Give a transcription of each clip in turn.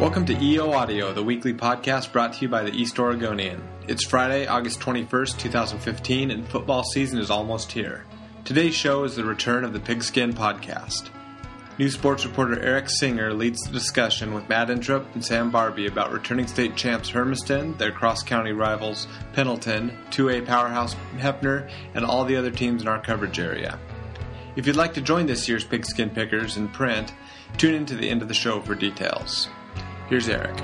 Welcome to EO Audio, the weekly podcast brought to you by the East Oregonian. It's Friday, August 21st, 2015, and football season is almost here. Today's show is the return of the Pigskin Podcast. New sports reporter Eric Singer leads the discussion with Matt Entrup and Sam Barbie about returning state champs Hermiston, their cross-county rivals Pendleton, 2A powerhouse Hefner, and all the other teams in our coverage area. If you'd like to join this year's Pigskin Pickers in print, tune in to the end of the show for details. Here's Eric.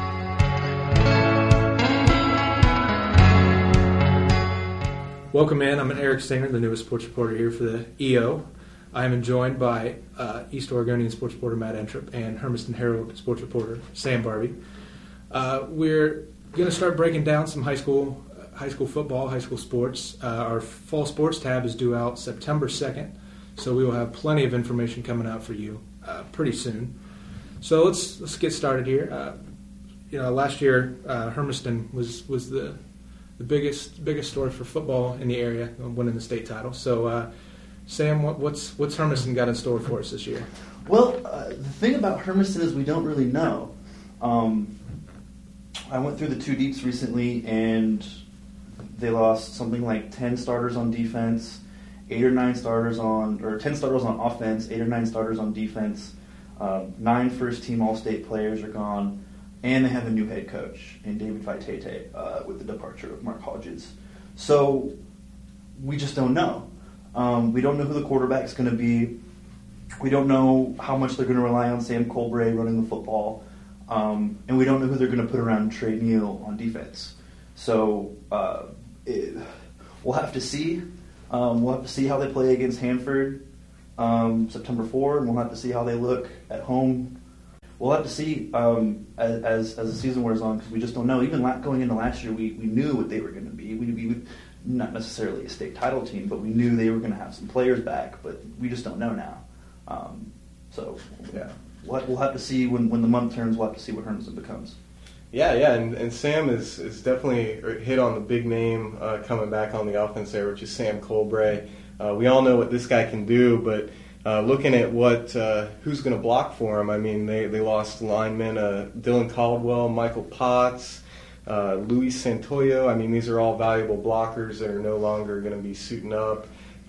Welcome in. I'm Eric Singer, the newest sports reporter here for the EO. I am joined by East Oregonian sports reporter Matt Entrup and Hermiston Herald sports reporter Sam Barbie. We're going to start breaking down some high school football, high school sports. Our fall sports tab is due out September 2nd, so we will have plenty of information coming out for you pretty soon. So let's get started here. Last year Hermiston was the biggest story for football in the area, winning the state title. So Sam, what's Hermiston got in store for us this year? Well, the thing about Hermiston is we don't really know. I went through the two deeps recently, and they lost something like 10 starters on defense, 10 starters on offense, 8 or 9 starters on defense. 9 first-team All-State players are gone, and they have a new head coach in David Vaitete with the departure of Mark Hodges. So we just don't know. We don't know who the quarterback's going to be. We don't know how much they're going to rely on Sam Colbray running the football, and we don't know who they're going to put around Trey Neal on defense. So we'll have to see. We'll have to see how they play against Hanford September 4, and we'll have to see how they look at home. We'll have to see as the season wears on, because we just don't know. Even going into last year, we knew what they were going to be. We not necessarily a state title team, but we knew they were going to have some players back, but we just don't know now. We'll have to see when the month turns. We'll have to see what Hermiston becomes. Yeah, and Sam is definitely hit on the big name coming back on the offense there, which is Sam Colbray. We all know what this guy can do, but looking at who's going to block for him, I mean, they lost linemen Dylan Caldwell, Michael Potts, Luis Santoyo. I mean, these are all valuable blockers that are no longer going to be suiting up.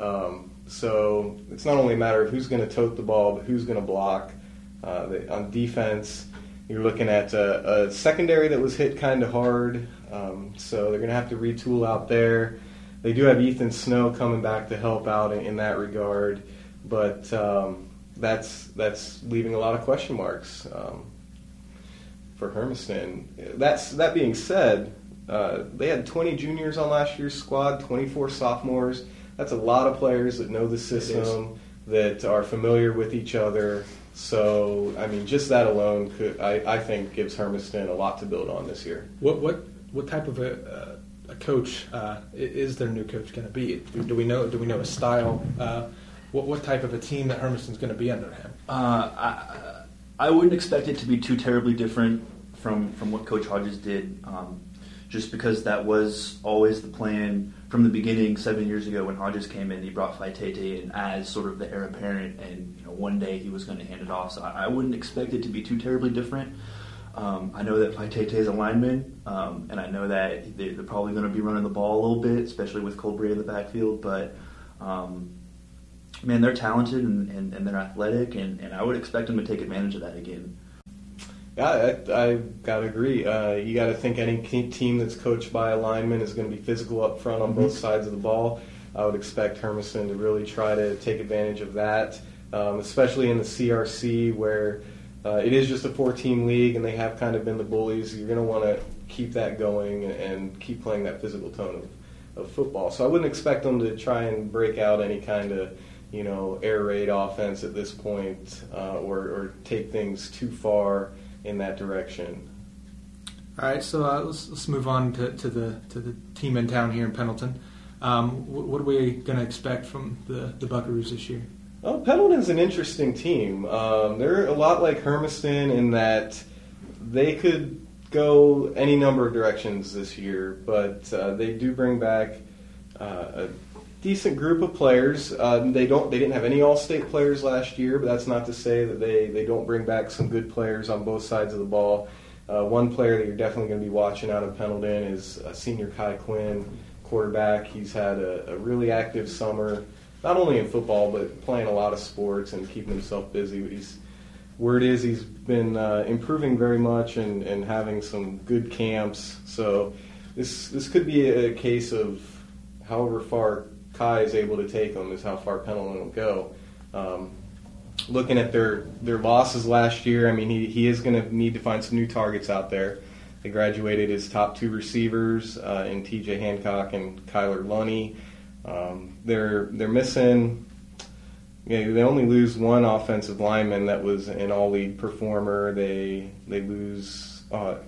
So it's not only a matter of who's going to tote the ball, but who's going to block. On defense, you're looking at a secondary that was hit kind of hard, so they're going to have to retool out there. They do have Ethan Snow coming back to help out in that regard, but that's leaving a lot of question marks for Hermiston. That being said, they had 20 juniors on last year's squad, 24 sophomores. That's a lot of players that know the system, that are familiar with each other. So, I mean, just that alone I think gives Hermiston a lot to build on this year. What type of a coach is their new coach going to be? Do we know his style? What type of a team that Hermiston's going to be under him? I wouldn't expect it to be too terribly different from what Coach Hodges did, just because that was always the plan from the beginning 7 years ago when Hodges came in. He brought Vaitete in as sort of the heir apparent, and one day he was going to hand it off. So I wouldn't expect it to be too terribly different. I know that Vaitete is a lineman, and I know that they're probably going to be running the ball a little bit, especially with Colbray in the backfield. But, man, they're talented and they're athletic, and I would expect them to take advantage of that again. Yeah, I got to agree. You got to think any team that's coached by a lineman is going to be physical up front on both sides of the ball. I would expect Hermiston to really try to take advantage of that, especially in the CRC where it is just a 4-team league, and they have kind of been the bullies. You're going to want to keep that going and keep playing that physical tone of football. So I wouldn't expect them to try and break out any kind of, air raid offense at this point or take things too far in that direction. All right, so let's move on to the team in town here in Pendleton. What are we going to expect from the Buckaroos this year? Well, Pendleton's an interesting team. They're a lot like Hermiston in that they could go any number of directions this year, but they do bring back a decent group of players. They didn't have any All-State players last year, but that's not to say that they don't bring back some good players on both sides of the ball. One player that you're definitely going to be watching out of Pendleton is senior Kai Quinn, quarterback. He's had a really active summer, not only in football, but playing a lot of sports and keeping himself busy. But word is he's been improving very much and having some good camps. So this could be a case of however far Kai is able to take him is how far Pendleton will go. Looking at their losses last year, I mean, he is going to need to find some new targets out there. They graduated his top two receivers in T.J. Hancock and Kyler Lunney. They're missing. They only lose one offensive lineman that was an all-league performer. They lose,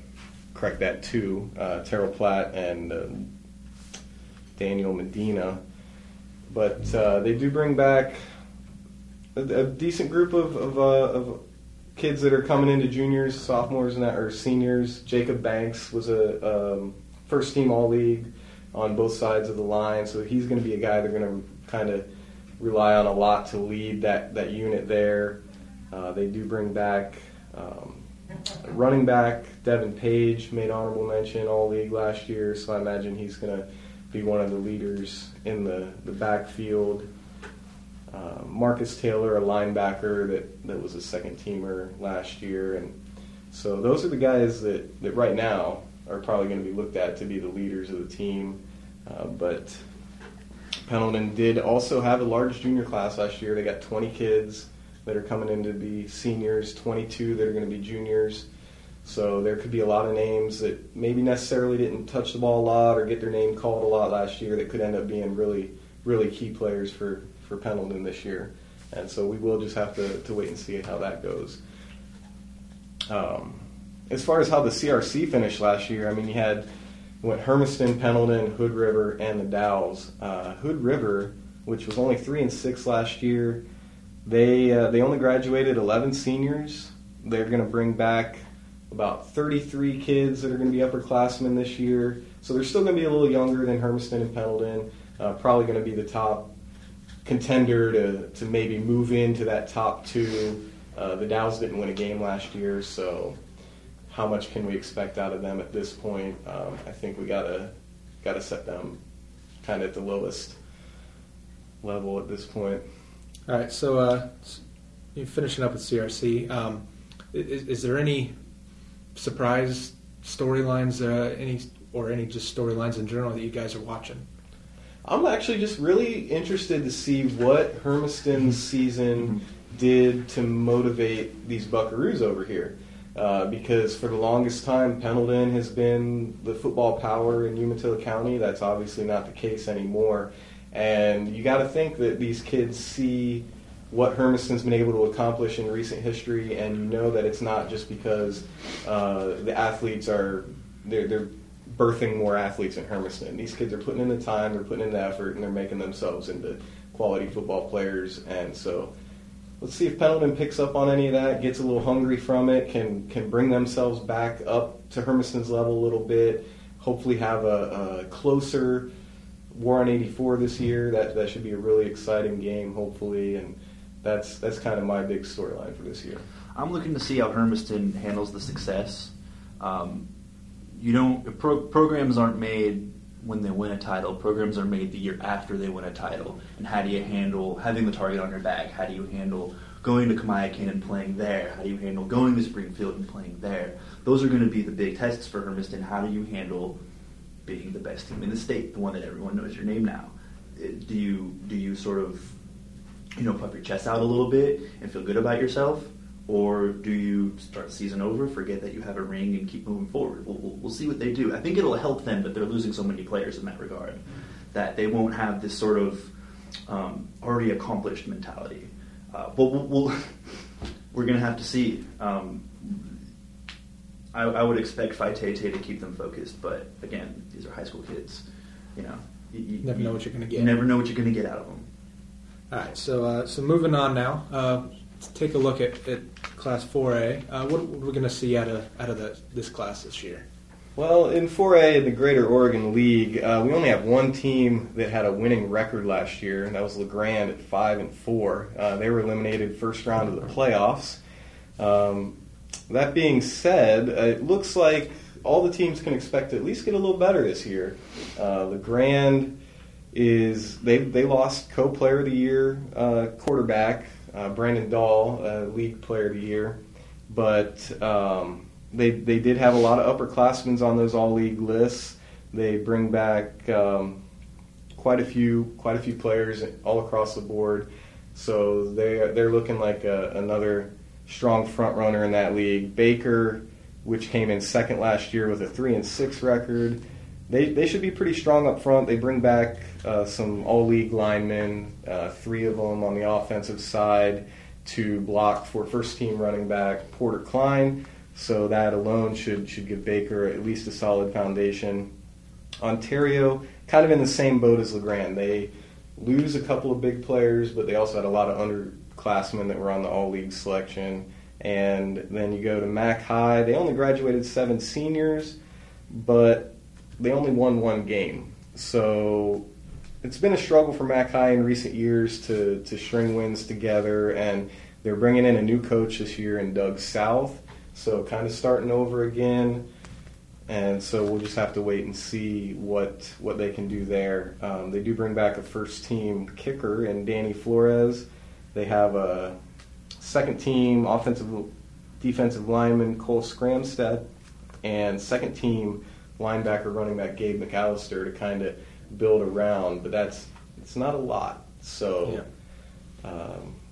two, Terrell Platt and Daniel Medina. But they do bring back a decent group of kids that are coming into juniors, sophomores, or seniors. Jacob Banks was a first-team All-League on both sides of the line, so he's going to be a guy they're going to kind of rely on a lot to lead that unit there. They do bring back running back Devin Page, made honorable mention All-League last year, so I imagine he's going to be one of the leaders in the backfield. Marcus Taylor, a linebacker that was a second-teamer last year. And so those are the guys that right now are probably going to be looked at to be the leaders of the team. But Pendleton did also have a large junior class last year. They got 20 kids that are coming in to be seniors, 22 that are going to be juniors. So there could be a lot of names that maybe necessarily didn't touch the ball a lot or get their name called a lot last year that could end up being really, really key players for Pendleton this year. And so we will just have to wait and see how that goes. As far as how the CRC finished last year, I mean, you went Hermiston, Pendleton, Hood River, and the Dowels. Hood River, which was only 3-6 last year, they only graduated 11 seniors. They're going to bring back about 33 kids that are going to be upperclassmen this year. So they're still going to be a little younger than Hermiston and Pendleton. Probably going to be the top contender to maybe move into that top two. The Dowels didn't win a game last year, so how much can we expect out of them at this point? I think we gotta set them kind of at the lowest level at this point. All right, so you're finishing up with CRC. Is there any surprise storylines, any just storylines in general that you guys are watching? I'm actually just really interested to see what Hermiston's season did to motivate these Buckaroos over here. Because for the longest time, Pendleton has been the football power in Umatilla County. That's obviously not the case anymore. And you got to think that these kids see what Hermiston's been able to accomplish in recent history, and you know that it's not just because the athletes they're birthing more athletes in Hermiston. These kids are putting in the time, they're putting in the effort, and they're making themselves into quality football players. And so let's see if Pendleton picks up on any of that, gets a little hungry from it, can bring themselves back up to Hermiston's level a little bit, hopefully have a closer War on 84 this year. That should be a really exciting game, hopefully, and that's kind of my big storyline for this year. I'm looking to see how Hermiston handles the success. Programs aren't made when they win a title. Programs are made the year after they win a title. And how do you handle having the target on your back? How do you handle going to Kamiakin and playing there? How do you handle going to Springfield and playing there? Those are going to be the big tests for Hermiston. How do you handle being the best team in the state, the one that everyone knows your name now? Do you sort of, puff your chest out a little bit and feel good about yourself? Or do you start the season over, forget that you have a ring, and keep moving forward? We'll see what they do. I think it'll help them, but they're losing so many players in that regard that they won't have this sort of already accomplished mentality. But we're going to have to see. I would expect Faitete to keep them focused, but again, these are high school kids. You never know what you're going to get. You never know what you're going to get out of them. All right, so moving on now. Let's take a look at Class 4A. What are we going to see out of this class this year? Well, in 4A, the Greater Oregon League, we only have one team that had a winning record last year, and that was LeGrand at 5-4. They were eliminated first round of the playoffs. That being said, it looks like all the teams can expect to at least get a little better this year. LeGrand they lost co-player of the year quarterback Brandon Dahl, league player of the year, but they did have a lot of upperclassmen on those all-league lists. They bring back quite a few players all across the board, so they're looking like another strong front runner in that league. Baker, which came in second last year with a 3-6 record, they should be pretty strong up front. They bring back some all-league linemen, 3 of them on the offensive side to block for first-team running back Porter Klein. So that alone should give Baker at least a solid foundation. Ontario, kind of in the same boat as LeGrand. They lose a couple of big players, but they also had a lot of underclassmen that were on the all-league selection. And then you go to Mac High. They only graduated 7 seniors, but they only won 1 game. So it's been a struggle for Mac High in recent years to string wins together, and they're bringing in a new coach this year in Doug South. So kind of starting over again, and so we'll just have to wait and see what they can do there. They do bring back a first-team kicker in Danny Flores. They have a second-team defensive lineman Cole Scramstead, and second-team linebacker running back Gabe McAllister to kind of build around. But it's not a lot, so. Yeah.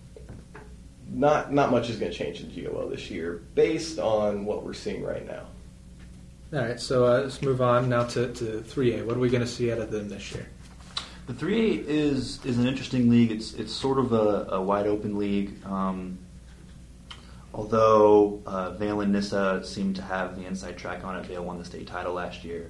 Not much is going to change in GOL this year based on what we're seeing right now. All right, so let's move on now to 3A. What are we going to see out of them this year? The 3A is an interesting league. It's sort of a wide open league. Although Valen Nissa seemed to have the inside track on it, they won the state title last year.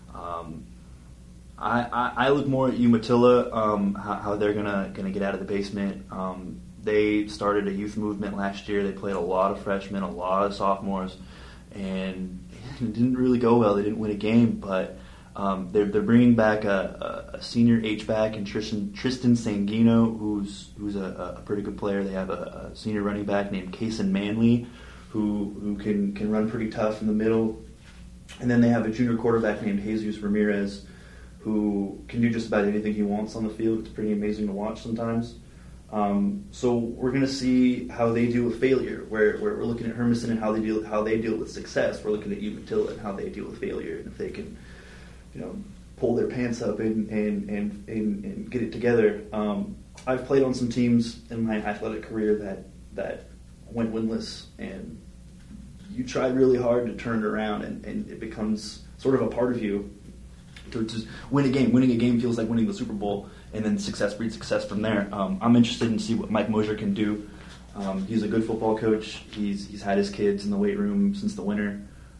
I look more at Umatilla, how they're gonna get out of the basement. They started a youth movement last year. They played a lot of freshmen, a lot of sophomores, and it didn't really go well. They didn't win a game, but they're bringing back a senior H-back in Tristan Sanguino, who's a pretty good player. They have a senior running back named Kason Manley, who can run pretty tough in the middle. And then they have a junior quarterback named Jesus Ramirez, who can do just about anything he wants on the field. It's pretty amazing to watch sometimes. So we're going to see how they deal with failure. Where we're looking at Hermiston and how they deal with success. We're looking at Umatilla and how they deal with failure, and if they can, pull their pants up and get it together. I've played on some teams in my athletic career that went winless, and you try really hard to turn it around, and it becomes sort of a part of you to win a game. Winning a game feels like winning the Super Bowl. And then success breeds success from there. I'm interested in see what Mike Mosier can do. He's a good football coach. He's had his kids in the weight room since the winter.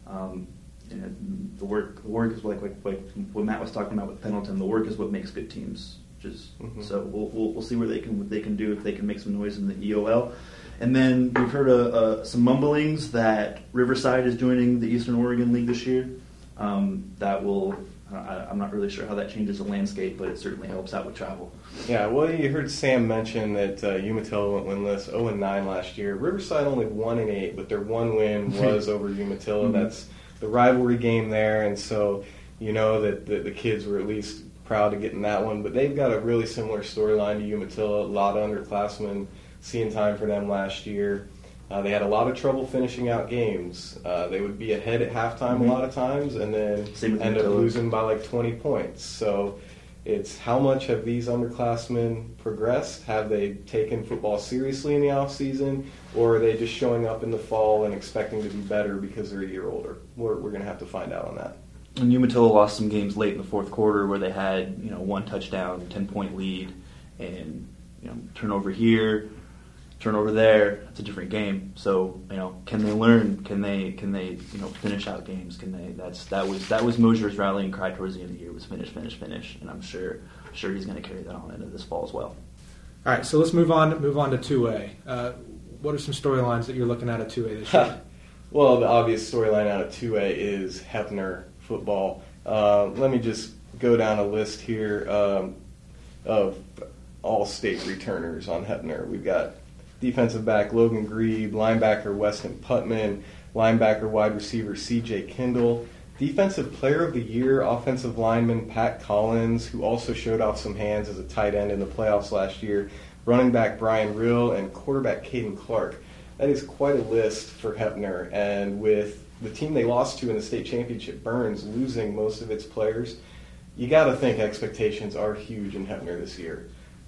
And the work is like what Matt was talking about with Pendleton. The work is what makes good teams. So we'll see what they can do if they can make some noise in the EOL. And then we've heard some mumblings that Riverside is joining the Eastern Oregon League this year. That will. I'm not really sure how that changes the landscape, but it certainly helps out with travel. Yeah, well, you heard Sam mention that Umatilla went winless 0-9 last year. Riverside only 1-8, but their one win was over Umatilla. Mm-hmm. That's the rivalry game there, and so you know that the kids were at least proud to get in that one. But they've got a really similar storyline to Umatilla. A lot of underclassmen seeing time for them last year. They had a lot of trouble finishing out games. They would be ahead at halftime a lot of times and then end up losing by like 20 points. So it's how much have these underclassmen progressed? Have they taken football seriously in the offseason, or are they just showing up in the fall and expecting to be better because they're a year older? We're going to have to find out on that. And Umatilla lost some games late in the fourth quarter where they had 1 touchdown, 10-point lead, and turnover here, turnover there. It's a different game. So can they learn? Can they finish out games? Can they? That was Mosier's rallying cry towards the end of the year was finish, and I'm sure he's going to carry that on into this fall as well. All right, so let's move on to 2A. What are some storylines that you're looking at 2A this year? Well, the obvious storyline out of 2A is Hefner football. Let me just go down a list here of all-state returners on Heppner. We've got defensive back Logan Grebe, linebacker Weston Putman, linebacker wide receiver C.J. Kindle, defensive player of the year offensive lineman Pat Collins, who also showed off some hands as a tight end in the playoffs last year, running back Brian Rill, and quarterback Caden Clark. That is quite a list for Heppner, and with the team they lost to in the state championship, Burns, losing most of its players, you got to think expectations are huge in Heppner this year.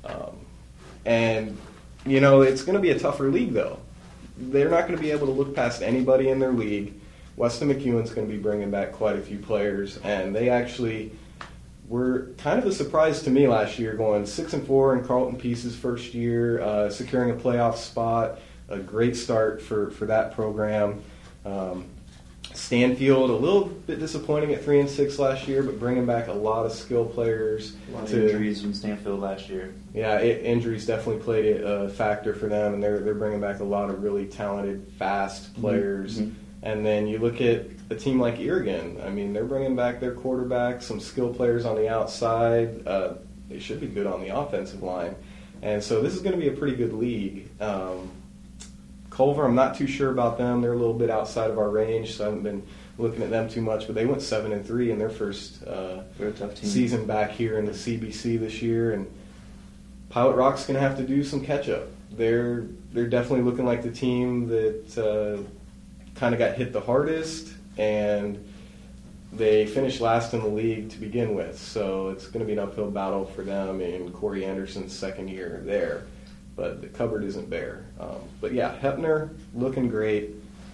And, you know, it's going to be a tougher league, though. They're not going to be able to look past anybody in their league. Weston McEwen's going to be bringing back quite a few players, and they actually were kind of a surprise to me last year, going 6-4 in Carlton Peace's first year, securing a playoff spot, a great start for that program. Stanfield, a little bit disappointing at 3-6 last year, but bringing back a lot of skill players. A lot of injuries from Stanfield last year. Yeah, injuries definitely played a factor for them, and they're bringing back a lot of really talented, fast players. Mm-hmm. And then you look at a team like Irrigan. I mean, they're bringing back their quarterback, some skill players on the outside. They should be good on the offensive line. And so this is going to be a pretty good league. Culver, I'm not too sure about them. They're a little bit outside of our range, so I haven't been looking at them too much. But they went 7-3 in their first season back here in the CBC this year. And Pilot Rock's going to have to do some catch-up. They're definitely looking like the team that kind of got hit the hardest, and they finished last in the league to begin with. So it's going to be an uphill battle for them in Corey Anderson's second year there. But the cupboard isn't bare. But yeah, Heppner looking great.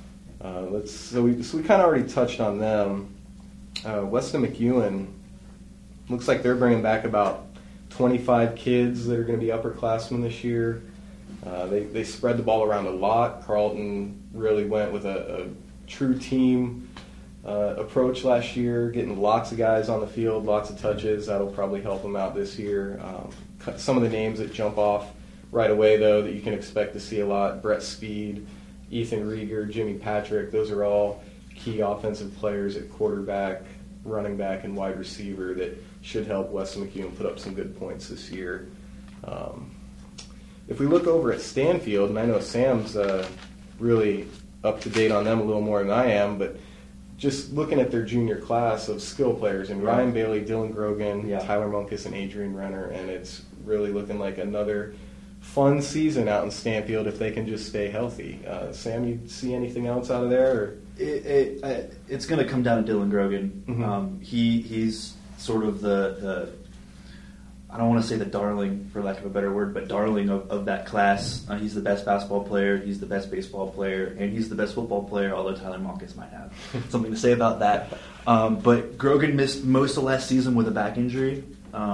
So we kind of already touched on them. Weston McEwen looks like they're bringing back about 25 kids that are going to be upperclassmen this year. They spread the ball around a lot. Carlton really went with a true team approach last year, getting lots of guys on the field, lots of touches. That'll probably help them out this year. Some of the names that jump off right away, though, that you can expect to see a lot: Brett Speed, Ethan Rieger, Jimmy Patrick. Those are all key offensive players at quarterback, running back, and wide receiver that should help Weston McEwen put up some good points this year. If we look over at Stanfield, and I know Sam's really up to date on them a little more than I am, but just looking at their junior class of skill players, and Ryan Bailey, Dylan Grogan, Tyler Munkus, and Adrian Renner, and it's really looking like another fun season out in Stanfield if they can just stay healthy. Sam, you see anything else out of there? Or? It's going to come down to Dylan Grogan. Mm-hmm. He's sort of the I don't want to say the darling, for lack of a better word, but darling of that class. He's the best basketball player, he's the best baseball player, and he's the best football player, although Tyler Munkus might have something to say about that. But Grogan missed most of last season with a back injury,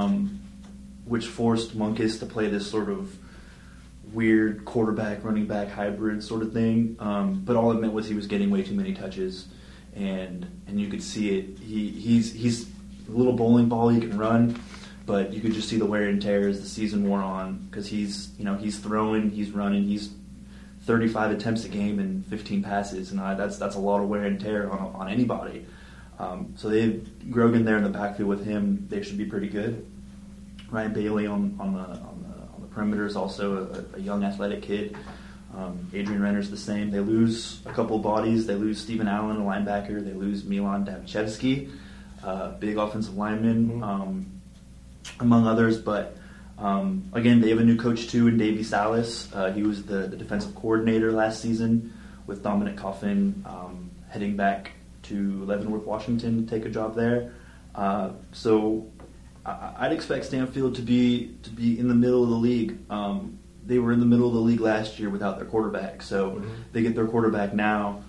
which forced Munkus to play this sort of weird quarterback, running back hybrid sort of thing. But all it meant was he was getting way too many touches, and you could see it. He's a little bowling ball, he can run, but you could just see the wear and tear as the season wore on, because he's throwing, he's running, he's 35 attempts a game and 15 passes, and that's a lot of wear and tear on anybody. So they have Grogan there in the backfield with him. They should be pretty good. Ryan Bailey on the perimeter is also a young athletic kid. Adrian Renner's the same. They lose a couple bodies. They lose Stephen Allen, a linebacker. They lose Milan Davchevsky, big offensive lineman, among others. But again, they have a new coach too in Davey Salas. He was the defensive coordinator last season with Dominic Coffin, heading back to Leavenworth, Washington to take a job there. So I'd expect Stanfield to be in the middle of the league. They were in the middle of the league last year without their quarterback, so they get their quarterback now.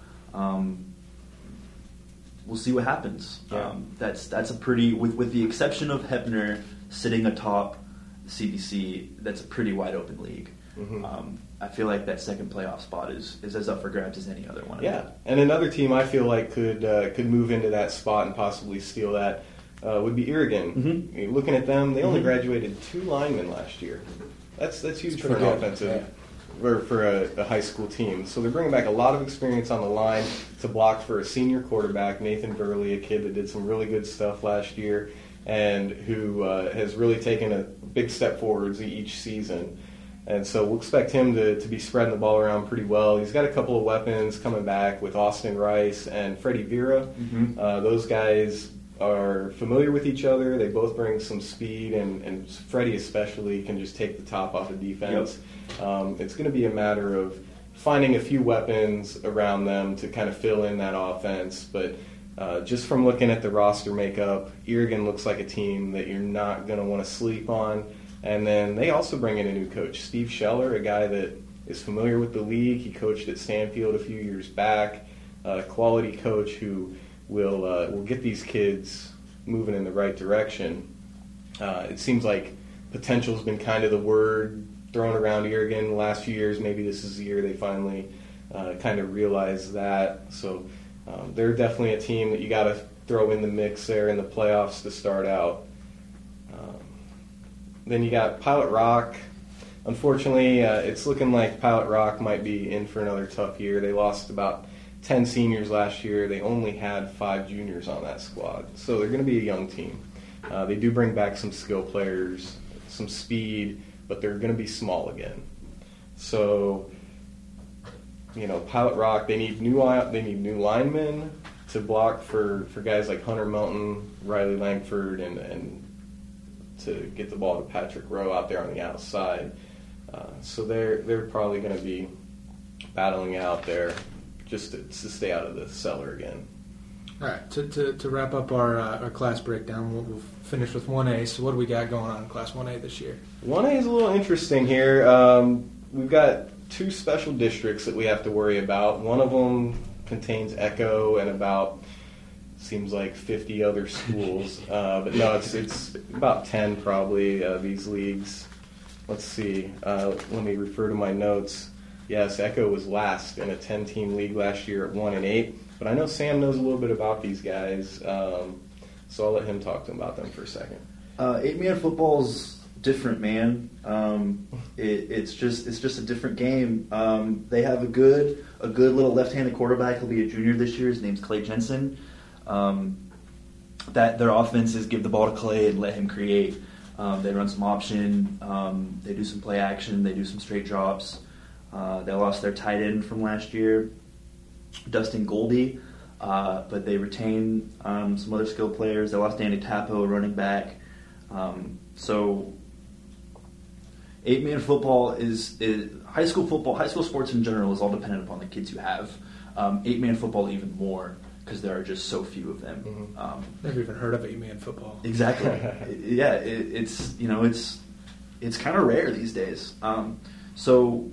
We'll see what happens. Yeah. That's a pretty, with the exception of Heppner sitting atop the CBC, that's a pretty wide open league. Mm-hmm. I feel like that second playoff spot is as up for grabs as any other one. Yeah, and another team I feel like could move into that spot and possibly steal that would be Irrigan. Mm-hmm. Looking at them, they only graduated 2 linemen last year. That's huge for an offensive or for a high school team. So they're bringing back a lot of experience on the line to block for a senior quarterback, Nathan Burley, a kid that did some really good stuff last year and who has really taken a big step forwards each season. And so we'll expect him to be spreading the ball around pretty well. He's got a couple of weapons coming back with Austin Rice and Freddie Vera. Mm-hmm. Those guys are familiar with each other. They both bring some speed, and Freddie especially can just take the top off of defense. Yep. It's going to be a matter of finding a few weapons around them to kind of fill in that offense. But just from looking at the roster makeup, Oregon looks like a team that you're not going to want to sleep on. And then they also bring in a new coach, Steve Scheller, a guy that is familiar with the league. He coached at Stanfield a few years back, a quality coach who will get these kids moving in the right direction. It seems like potential's been kind of the word thrown around Oregon the last few years. Maybe this is the year they finally kind of realize that. So they're definitely a team that you got to throw in the mix there in the playoffs to start out. Then you got Pilot Rock. Unfortunately, it's looking like Pilot Rock might be in for another tough year. They lost about 10 seniors last year. They only had 5 juniors on that squad. So they're going to be a young team. They do bring back some skill players, some speed, but they're going to be small again. So, Pilot Rock, they need new linemen to block for guys like Hunter Melton, Riley Langford, and to get the ball to Patrick Rowe out there on the outside. So they're probably going to be battling out there just to stay out of the cellar again. All right, to wrap up our class breakdown, we'll finish with 1A. So what do we got going on in Class 1A this year? 1A is a little interesting here. We've got 2 special districts that we have to worry about. One of them contains Echo and about, seems like 50 other schools. But no, it's about 10 probably, these leagues. Let's see. Let me refer to my notes. Yes, Echo was last in a 10-team league last year at 1-8. But I know Sam knows a little bit about these guys, so I'll let him talk to them about them for a second. 8-man football's different, man. It's just a different game. They have a good little left-handed quarterback. He'll be a junior this year. His name's Clay Jensen. That their offense is give the ball to Clay and let him create. They run some option. They do some play action. They do some straight drops. They lost their tight end from last year, Dustin Goldie, but they retained some other skilled players. They lost Danny Tappo, running back. So 8-man football is high school football. High school sports in general is all dependent upon the kids you have. 8-man football even more because there are just so few of them. Mm-hmm. Never even heard of 8-man football. Exactly. Yeah, it's kind of rare these days. So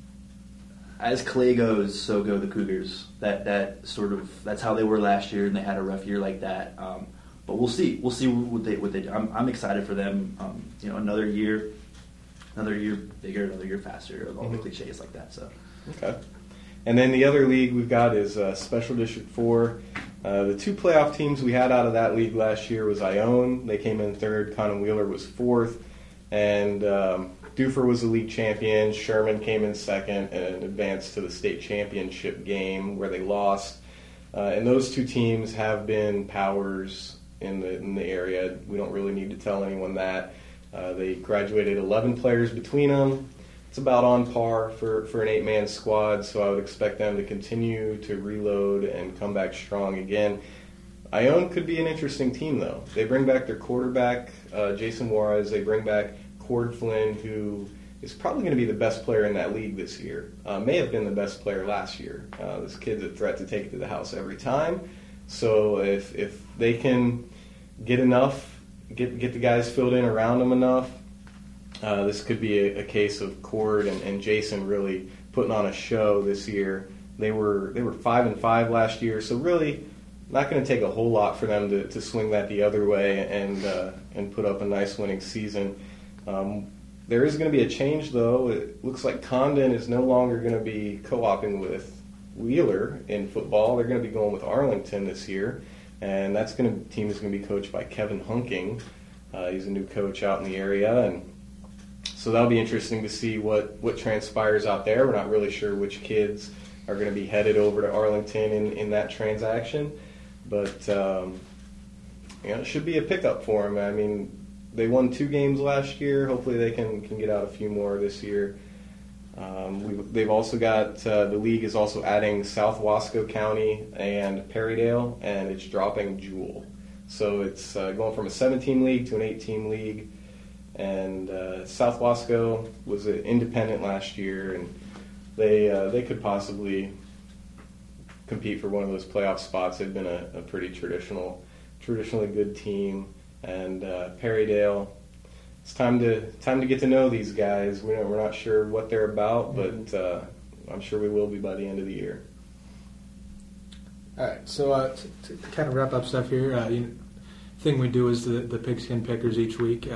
as Clay goes, so go the Cougars. That's how they were last year, and they had a rough year like that. But we'll see. We'll see what they do. I'm excited for them. Another year bigger, another year faster. All the cliches like that. So. Okay. And then the other league we've got is Special District 4. The 2 playoff teams we had out of that league last year was Ione. They came in 3rd. Conan Wheeler was 4th. And Duffer was the league champion. Sherman came in 2nd and advanced to the state championship game where they lost. And those 2 teams have been powers in the area. We don't really need to tell anyone that. They graduated 11 players between them. It's about on par for an 8-man squad, so I would expect them to continue to reload and come back strong again. Ione could be an interesting team, though. They bring back their quarterback, Jason Juarez. They bring back Cord Flynn, who is probably going to be the best player in that league this year. May have been the best player last year. This kid's a threat to take it to the house every time. So if they can get the guys filled in around them enough, this could be a case of Cord and Jason really putting on a show this year. They were 5-5 last year, so really not going to take a whole lot for them to swing that the other way and put up a nice winning season. There is going to be a change, though. It looks like Condon is no longer going to be co-oping with Wheeler in football. They're going to be going with Arlington this year, and team is going to be coached by Kevin Hunking. He's a new coach out in the area, and So that'll be interesting to see what transpires out there. We're not really sure which kids are going to be headed over to Arlington in that transaction. But it should be a pickup for them. I mean, they won 2 games last year. Hopefully they can get out a few more this year. They've also got, the league is also adding South Wasco County and Perrydale, and it's dropping Jewell. So it's going from a 17 league to an 18 league. And South Wasco was an independent last year, and they could possibly compete for one of those playoff spots. They've been a pretty traditionally good team. And Perrydale, it's time to get to know these guys. We're not sure what they're about, but I'm sure we will be by the end of the year. All right, so to kind of wrap up stuff here, thing we do is the Pigskin Pickers each week.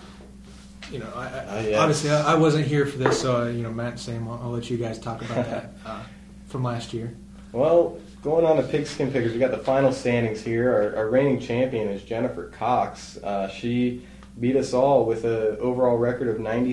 Honestly, I wasn't here for this, so Matt and Sam, I'll let you guys talk about that from last year. Well, going on to Pigskin Pickers, we got the final standings here. Our reigning champion is Jennifer Cox. She beat us all with an overall record of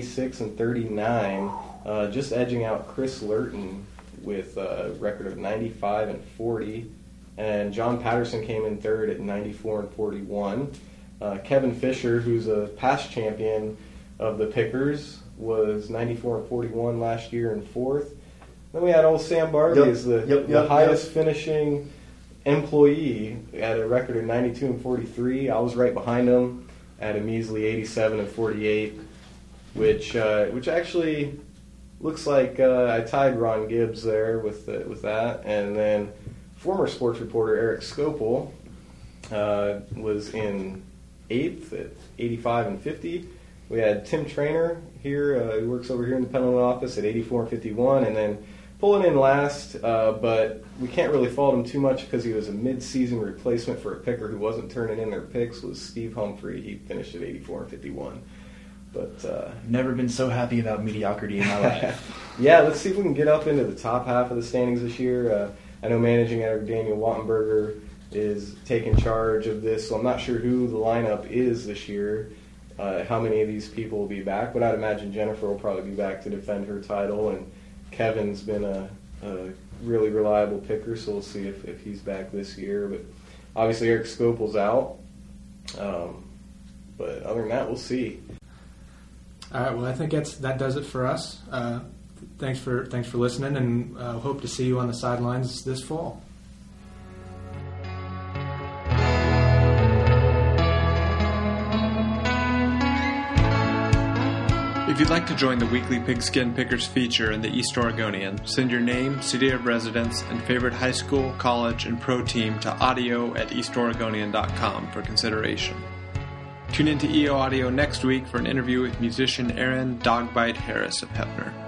96-39, just edging out Chris Lurton with a record of 95-40. And John Patterson came in third at 94-41. Kevin Fisher, who's a past champion of the Pickers, was 94-41 last year in fourth. Then we had old Sam Barbie as the highest finishing employee at a record of 92-43. I was right behind him at a measly 87-48, which actually looks like I tied Ron Gibbs there with that. And then former sports reporter Eric Skopel was in 8th at 85-50. We had Tim Trainer here, who works over here in the Pendleton office, at 84-51, and then pulling in last, but we can't really fault him too much because he was a mid-season replacement for a picker who wasn't turning in their picks, was Steve Humphrey. He finished at 84-51. But never been so happy about mediocrity in my life. Yeah, let's see if we can get up into the top half of the standings this year. I know managing editor Daniel Wattenberger is taking charge of this, so I'm not sure who the lineup is this year, how many of these people will be back, but I'd imagine Jennifer will probably be back to defend her title, and Kevin's been a really reliable picker, so we'll see if he's back this year. But obviously Eric Skopel's out, but other than that, we'll see. All right, well, I think that does it for us. Thanks for listening, and hope to see you on the sidelines this fall. If you'd like to join the weekly Pigskin Pickers feature in the East Oregonian, send your name, city of residence, and favorite high school, college, and pro team to audio@eastoregonian.com for consideration. Tune in to EO Audio next week for an interview with musician Aaron Dogbite Harris of Hefner.